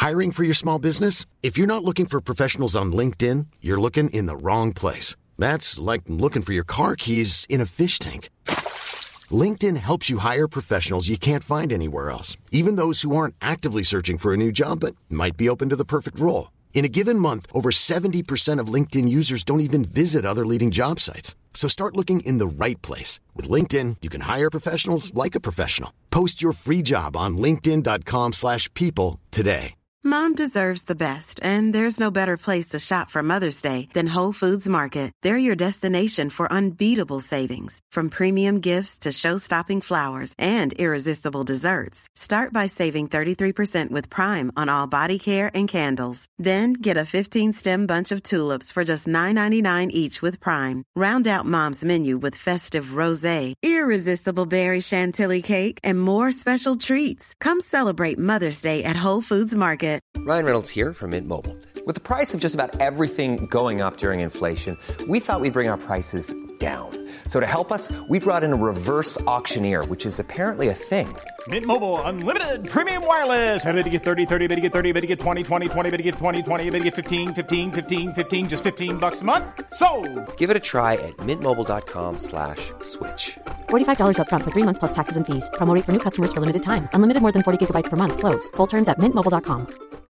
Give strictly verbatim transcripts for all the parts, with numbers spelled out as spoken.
Hiring for your small business? If you're not looking for professionals on LinkedIn, you're looking in the wrong place. That's like looking for your car keys in a fish tank. LinkedIn helps you hire professionals you can't find anywhere else, even those who aren't actively searching for a new job but might be open to the perfect role. In a given month, over seventy percent of LinkedIn users don't even visit other leading job sites. So start looking in the right place. With LinkedIn, you can hire professionals like a professional. Post your free job on linkedin dot com slash people today. Mom deserves the best, and there's no better place to shop for Mother's Day than Whole Foods Market. They're your destination for unbeatable savings, from premium gifts to show-stopping flowers and irresistible desserts. Start by saving thirty-three percent with Prime on all body care and candles. Then get a fifteen-stem bunch of tulips for just nine ninety-nine each with Prime. Round out Mom's menu with festive rosé, irresistible berry chantilly cake, and more special treats. Come celebrate Mother's Day at Whole Foods Market. Ryan Reynolds here from Mint Mobile. With the price of just about everything going up during inflation, we thought we'd bring our prices down. So to help us, we brought in a reverse auctioneer, which is apparently a thing. Mint Mobile Unlimited Premium Wireless. How to get thirty, thirty, how to get thirty, how to get twenty, twenty, twenty, how to get twenty, twenty, how to get fifteen, fifteen, fifteen, fifteen, just fifteen bucks a month? Sold! Give it a try at mintmobile.com slash switch. forty-five dollars up front for three months plus taxes and fees. Promo rate for new customers for limited time. Unlimited more than forty gigabytes per month. Slows full terms at mint mobile dot com.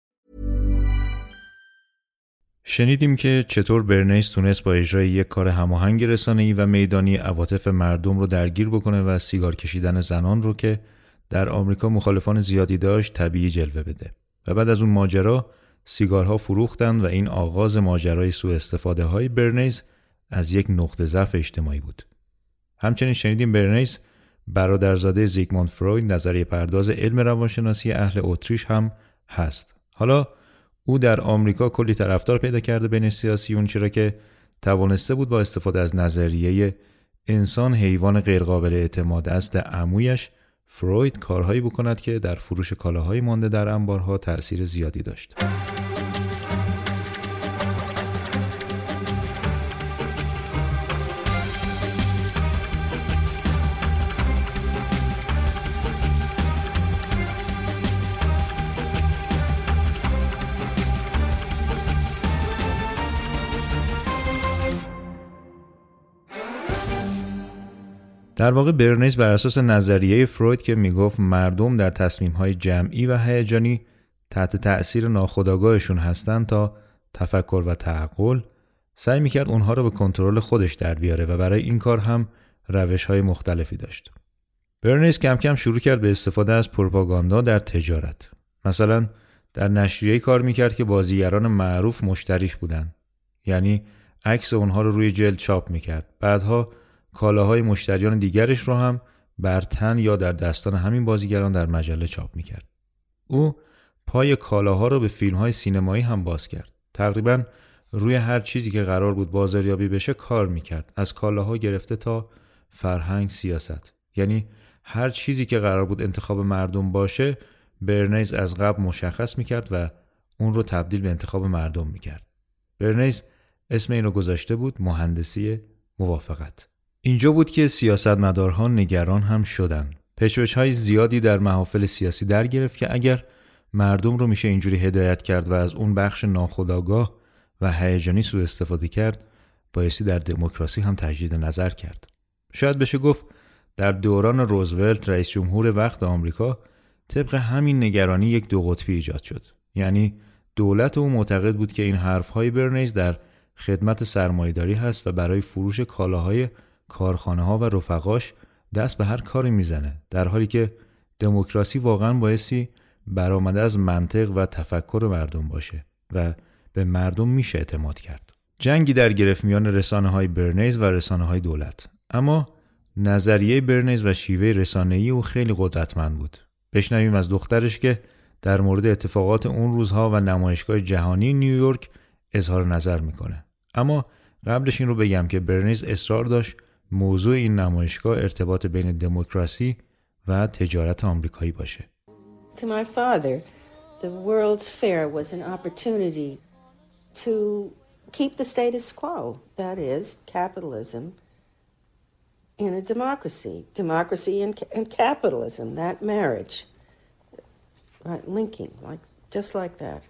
شنیدیم که چطور برنیس تونست با اجرای یک کار هماهنگ رسانه‌ای و میدانی عواطف مردم رو درگیر بکنه و سیگار کشیدن زنان رو که در آمریکا مخالفان زیادی داشت طبیعی جلوه بده. و بعد از اون ماجرا سیگارها فروختند و این آغاز ماجرای سوء استفاده های برنیس از یک نقطه ضعف اجتماعی بود. همچنین شنیدیم برنیس برادرزاده زیگموند فروید، نظریه پرداز علم روانشناسی اهل اتریش هم هست. حالا او در آمریکا کلی طرفدار پیدا کرده بین سیاسیون، چرا که توانسته بود با استفاده از نظریه انسان حیوان غیرقابل اعتماد است عمویش فروید کارهایی بکند که در فروش کالاهای مانده در انبارها تأثیر زیادی داشت. در واقع برنیس بر اساس نظریه فروید که میگفت مردم در تصمیم‌های جمعی و هیجانی تحت تأثیر ناخودآگاهشون هستن تا تفکر و تعقل، سعی میکرد اونها رو به کنترل خودش در بیاره و برای این کار هم روش‌های مختلفی داشت. برنیس کم کم شروع کرد به استفاده از پروپاگاندا در تجارت. مثلا در نشریه‌ای کار میکرد که بازیگران معروف مشتریش بودن. یعنی عکس اونها رو روی جلد چاپ میکرد. بعدها کالاهای مشتریان دیگرش رو هم بر تن یا در دستان همین بازیگران در مجله چاپ میکرد. او پای کالاها رو به فیلم‌های سینمایی هم باز کرد. تقریباً روی هر چیزی که قرار بود بازاریابی بشه کار میکرد. از کالاها گرفته تا فرهنگ، سیاست. یعنی هر چیزی که قرار بود انتخاب مردم باشه، برنیس از قبل مشخص میکرد و اون رو تبدیل به انتخاب مردم میکرد. برنیس اسم این رو گذاشته بود مهندسی موافقت. اینجا بود که سیاستمدارها نگران هم شدن. پژوهش‌های زیادی در محافل سیاسی در گرفت که اگر مردم رو میشه اینجوری هدایت کرد و از اون بخش ناخودآگاه و هیجانی سوء استفاده کرد، بایستی در دموکراسی هم تجدید نظر کرد. شاید بشه گفت در دوران روزولت رئیس جمهور وقت آمریکا طبق همین نگرانی یک دو قطبی ایجاد شد. یعنی دولت او معتقد بود که این حرف‌های برنیس در خدمت سرمایه‌داری هست و برای فروش کالاهای کارخانه‌ها و رفقاش دست به هر کاری میزنه، در حالی که دموکراسی واقعاً بایستی برآمده از منطق و تفکر مردم باشه و به مردم میشه اعتماد کرد. جنگی در گرفت میان رسانه‌های برنیس و رسانه‌های دولت. اما نظریه برنیس و شیوه رسانه‌ای او خیلی قدرتمند بود. بشنویم از دخترش که در مورد اتفاقات اون روزها و نمایشگاه جهانی نیویورک اظهار نظر میکنه. اما قبلش این رو بگم که برنیس اصرار داشت موضوع این نمایشگاه ارتباط بین دموکراسی و تجارت آمریکایی باشه. To my father, the World's Fair was an opportunity to keep the status quo, that is, capitalism in a democracy. Democracy and, and capitalism, that marriage, right, linking, like just like that.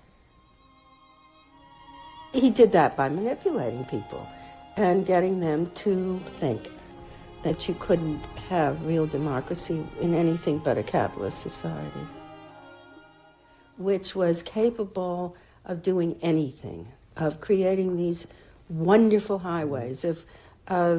He did that by manipulating people and getting them to think that you couldn't have real democracy in anything but a capitalist society, which was capable of doing anything, of creating these wonderful highways, of of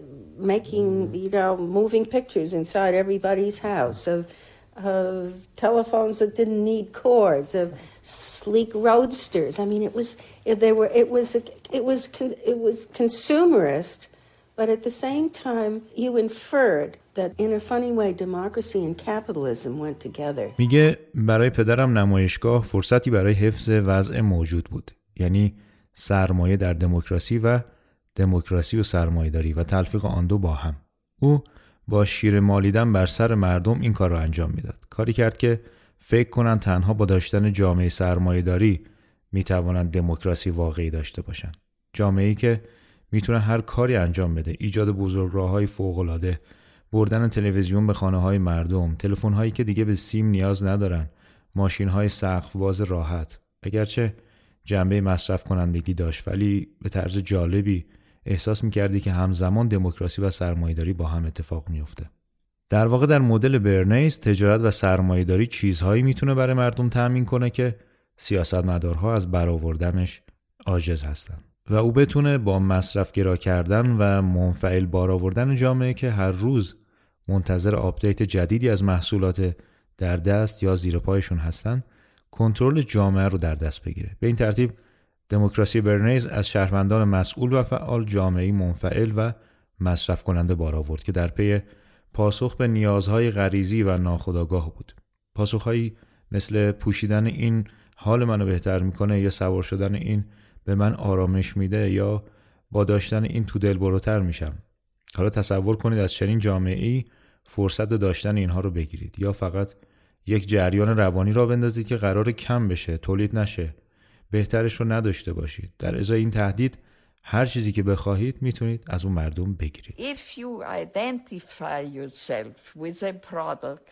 making, you know, moving pictures inside everybody's house, of of telephones that didn't need cords, of sleek roadsters. I mean, it was it, they were it was it was it was consumerist, but at the same time you inferred that in a funny way democracy and capitalism went together. میگه برای پدرم نمایشگاه فرصتی برای حفظ وضع موجود بود. یعنی سرمایه در دموکراسی و دموکراسی و سرمایه‌داری و تلفیق آن دو با هم. او با شیر مالیدن بر سر مردم این کار را انجام میداد. کاری کرد که فکر کنند تنها با داشتن جامعه سرمایه‌داری میتوانند دموکراسی واقعی داشته باشند. جامعه‌ای که میتونه هر کاری انجام بده، ایجاد بزرگراه‌های فوق‌العاده، بردن تلویزیون به خانه‌های مردم، تلفن‌هایی که دیگه به سیم نیاز ندارن، ماشین‌های سقف‌باز راحت. اگرچه جنبه مصرف کنندگی داشت، ولی به طرز جالبی احساس می‌کردی که همزمان دموکراسی و سرمایه‌داری با هم اتفاق می‌افته. در واقع در مدل برنیز تجارت و سرمایه‌داری چیزهایی میتونه برای مردم تأمین کنه که سیاستمدارها از برآوردنش عاجز هستن و او بتونه با مصرفگرا کردن و منفعل بار آوردن جامعه که هر روز منتظر آپدیت جدیدی از محصولات در دست یا زیر پایشون هستن کنترل جامعه رو در دست بگیره. به این ترتیب دموکراسی برنیز از شهروندان مسئول و فعال جامعه‌ای منفعل و مصرف کننده بار آورد که در پی پاسخ به نیازهای غریزی و ناخودآگاه بود. پاسخهایی مثل پوشیدن این حال منو بهتر میکنه یا سوار شدن این به من آرامش میده یا با داشتن این تو دل بروتر میشم. حالا تصور کنید از چنین جامعه‌ای فرصت داشتن اینها رو بگیرید یا فقط یک جریان روانی را بندازید که قرار کم بشه، تولید نشه، بهترش رو نداشته باشید. در ازای این تهدید هر چیزی که بخواهید میتونید از اون مردم بگیرید. If you identify yourself with a product.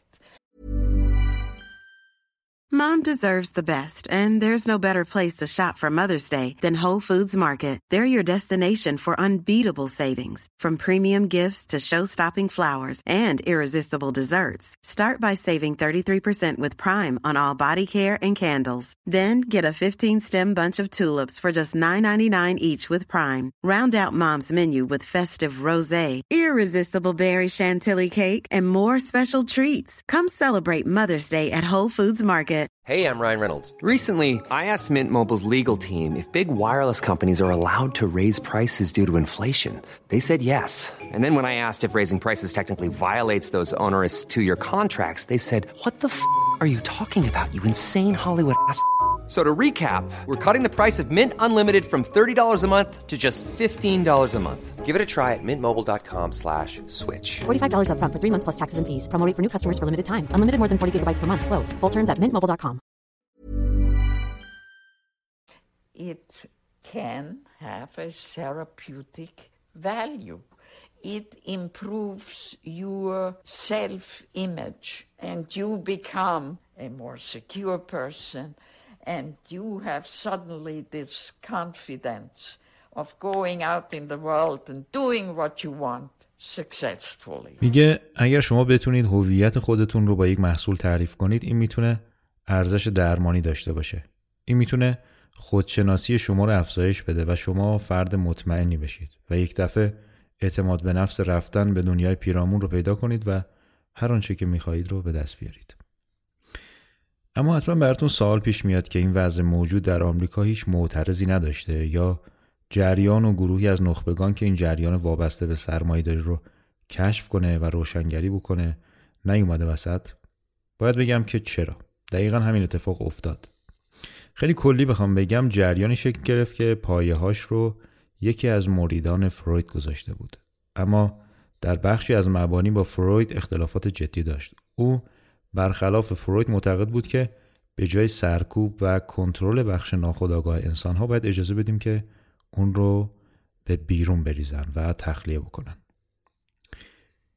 Mom deserves the best, and there's no better place to shop for Mother's Day than Whole Foods Market. They're your destination for unbeatable savings, from premium gifts to show-stopping flowers and irresistible desserts. Start by saving thirty-three percent with Prime on all body care and candles. Then get a fifteen-stem bunch of tulips for just nine ninety-nine each with Prime. Round out Mom's menu with festive rosé, irresistible berry chantilly cake, and more special treats. Come celebrate Mother's Day at Whole Foods Market. Hey, I'm Ryan Reynolds. Recently, I asked Mint Mobile's legal team if big wireless companies are allowed to raise prices due to inflation. They said yes. And then when I asked if raising prices technically violates those onerous two-year contracts, they said, what the f*** are you talking about, you insane Hollywood ass f- So to recap, we're cutting the price of Mint Unlimited from thirty dollars a month to just fifteen dollars a month. Give it a try at mintmobile.com slash switch. forty-five dollars up front for three months plus taxes and fees. Promo rate for new customers for limited time. Unlimited more than forty gigabytes per month. Slows full terms at mint mobile dot com. It can have a therapeutic value. It improves your self-image and you become a more secure person and you have suddenly this confidence of going out in the world and doing what you want successfully. میگه اگر شما بتونید هویت خودتون رو با یک محصول تعریف کنید، این میتونه ارزش درمانی داشته باشه. این میتونه خودشناسی شما رو افزایش بده و شما فرد مطمئنی بشید و یک دفعه اعتماد به نفس رفتن به دنیای پیرامون رو پیدا کنید و هر آنچه که میخواهید رو به دست بیارید. اما حتما براتون سوال پیش میاد که این وضع موجود در آمریکا هیچ معترضی نداشته یا جریان و گروهی از نخبگان که این جریان وابسته به سرمایه‌داری رو کشف کنه و روشنگری بکنه نیومده وسط؟ باید بگم که چرا. دقیقاً همین اتفاق افتاد. خیلی کلی بخوام بگم جریانی شکل گرفت که پایه‌هاش رو یکی از مریدان فروید گذاشته بود. اما در بخشی از مبانی با فروید اختلافات جدی داشت. او برخلاف فروید معتقد بود که به جای سرکوب و کنترل بخش ناخودآگاه انسان‌ها باید اجازه بدیم که اون رو به بیرون بریزن و تخلیه بکنن.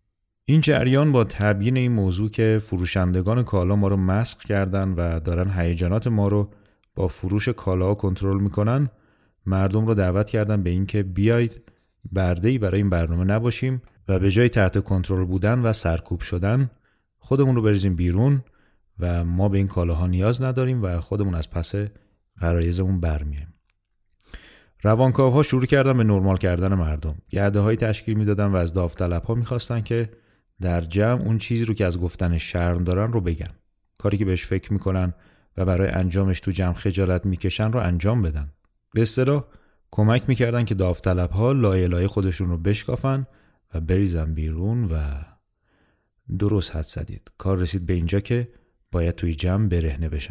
این جریان با تبیین این موضوع که فروشندگان کالا ما رو مسخ کردن و دارن هیجانات ما رو با فروش کالا کنترل میکنن، مردم رو دعوت کردن به این که بیایید برده‌ای برای این برنامه نباشیم و به جای تحت کنترل بودن و سرکوب شدن خودمون رو بریزیم بیرون و ما به این کالاها نیاز نداریم و خودمون از پس غرایزمون برمیایم. روانکاوها شروع کردن به نرمال کردن مردم. گرده‌های تشکیل میدادن و از داوطلب‌ها می‌خواستن که در جمع اون چیزی رو که از گفتن شرم دارن رو بگن. کاری که بهش فکر میکنن و برای انجامش تو جمع خجالت میکشن رو انجام بدن. به اصطلاح کمک میکردن که داوطلب‌ها لایه لایه خودشون رو بشکافن و بریزن بیرون و درست حد زدید. کار رسید به اینجا که باید توی جمع برهنه بشن.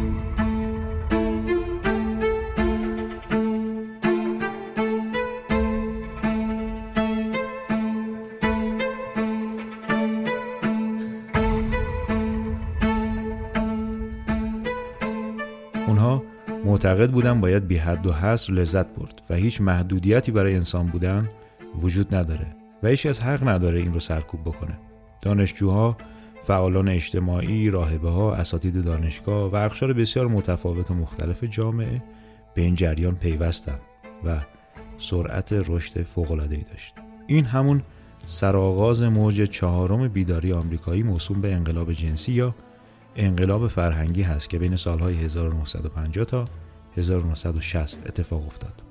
اونها معتقد بودن باید بی حد و حصر لذت برد و هیچ محدودیتی برای انسان بودن وجود نداره و هیچ کس حق نداره این رو سرکوب بکنه. دانشجوها، فعالان اجتماعی، راهبه‌ها، اساتید دانشگاه و اقشار بسیار متفاوت و مختلف جامعه به این جریان پیوستند و سرعت رشد فوق‌العاده‌ای داشت. این همون سرآغاز موج چهارم بیداری آمریکایی موسوم به انقلاب جنسی یا انقلاب فرهنگی هست که بین سالهای هزار و نهصد و پنجاه تا هزار و نهصد و شصت اتفاق افتاد.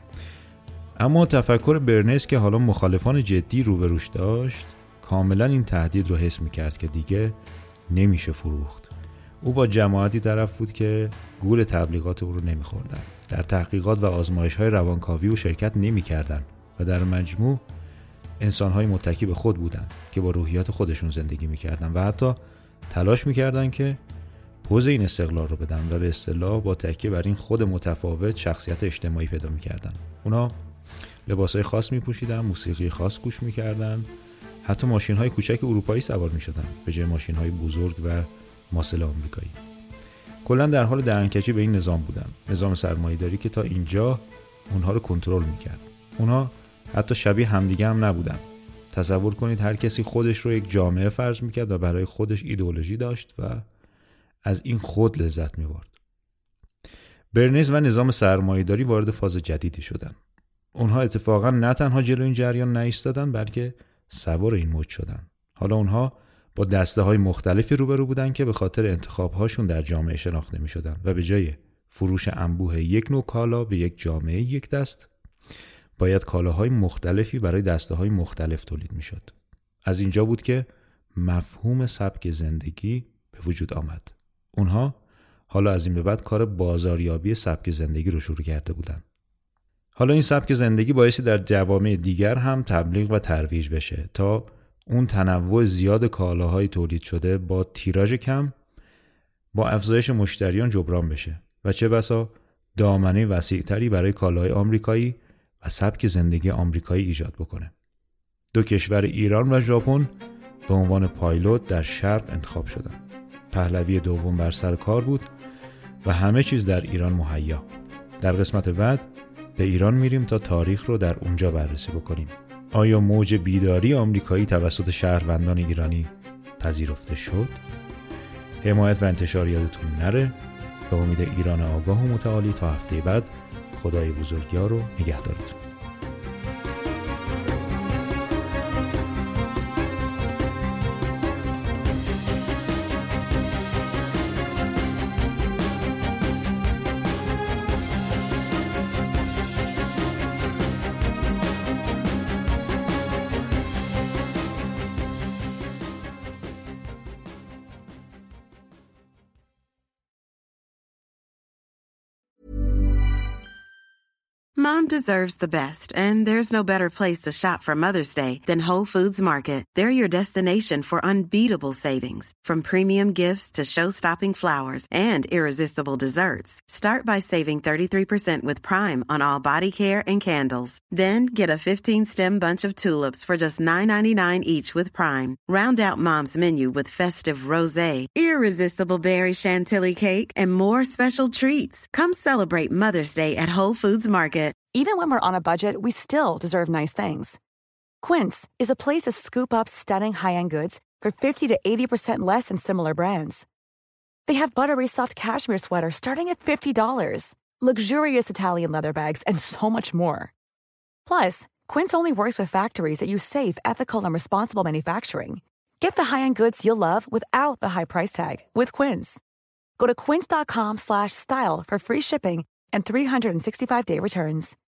اما تفکر برنز که حالا مخالفان جدی روبروش داشت کاملا این تهدید رو حس می‌کرد که دیگه نمیشه فروخت. او با جماعتی طرف بود که گول تبلیغات او رو نمی‌خوردن. در تحقیقات و آزمایش‌های روانکاوی او شرکت نمی‌کردن و در مجموع انسان‌های متکی به خود بودند که با روحیات خودشون زندگی می‌کردن و حتی تلاش می‌کردن که پوز این استقلال رو بدن و به اصطلاح با تکیه بر این خود متفاوت شخصیت اجتماعی پیدا می‌کردن. اونا لباسای خاص می‌پوشیدن، موسیقی خاص گوش می‌کردن، حتی ماشین‌های کوچک اروپایی سوار می‌شدن به جای ماشین‌های بزرگ و ماسل آمریکایی. کلاً در حال دهنکجی به این نظام بودن، نظام سرمایه‌داری که تا اینجا اونها رو کنترل می‌کرد. اونها حتی شبیه همدیگه هم نبودن. تصور کنید هر کسی خودش رو یک جامعه فرض می‌کرد و برای خودش ایدئولوژی داشت و از این خود لذت می‌برد. برنز و نظام سرمایه‌داری وارد فاز جدیدی شدن. اونها اتفاقاً نه تنها جلوی این جریان نایستادن بلکه سوار این موج شدن. حالا اونها با دسته‌های مختلفی روبرو بودن که به خاطر انتخاب‌هاشون در جامعه شناخته می‌شدن و به جای فروش انبوه یک نوع کالا به یک جامعه یک دست باید کالاهای مختلفی برای دسته‌های مختلف تولید می‌شد. از اینجا بود که مفهوم سبک زندگی به وجود آمد. اونها حالا از این به بعد کار بازاریابی سبک زندگی رو شروع کرده بودن. حالا این سبک زندگی بایستی در جوامع دیگر هم تبلیغ و ترویج بشه تا اون تنوع زیاد کالاهای تولید شده با تیراژ کم با افزایش مشتریان جبران بشه و چه بسا دامنه وسیع‌تری برای کالاهای آمریکایی و سبک زندگی آمریکایی ایجاد بکنه. دو کشور ایران و ژاپن به عنوان پایلوت در شرق انتخاب شدند. پهلوی دوم بر سر کار بود و همه چیز در ایران مهیا. در قسمت بعد به ایران میریم تا تاریخ رو در اونجا بررسی بکنیم. آیا موج بیداری آمریکایی توسط شهروندان ایرانی پذیرفته شد؟ حمایت و انتشار یادتون نره. به امید ایران آگاه و متعالی تا هفته بعد، خدای بزرگیار رو نگهدارتون. Mom deserves the best, and there's no better place to shop for Mother's Day than Whole Foods Market. They're your destination for unbeatable savings, from premium gifts to show-stopping flowers and irresistible desserts. Start by saving thirty-three percent with Prime on all body care and candles. Then get a fifteen-stem bunch of tulips for just nine ninety-nine each with Prime. Round out Mom's menu with festive rosé, irresistible berry chantilly cake, and more special treats. Come celebrate Mother's Day at Whole Foods Market. Even when we're on a budget, we still deserve nice things. Quince is a place to scoop up stunning high-end goods for fifty to eighty percent less than similar brands. They have buttery soft cashmere sweaters starting at fifty dollars, luxurious Italian leather bags, and so much more. Plus, Quince only works with factories that use safe, ethical, and responsible manufacturing. Get the high-end goods you'll love without the high price tag with Quince. Go to quince.com slash style for free shipping and three sixty-five day returns.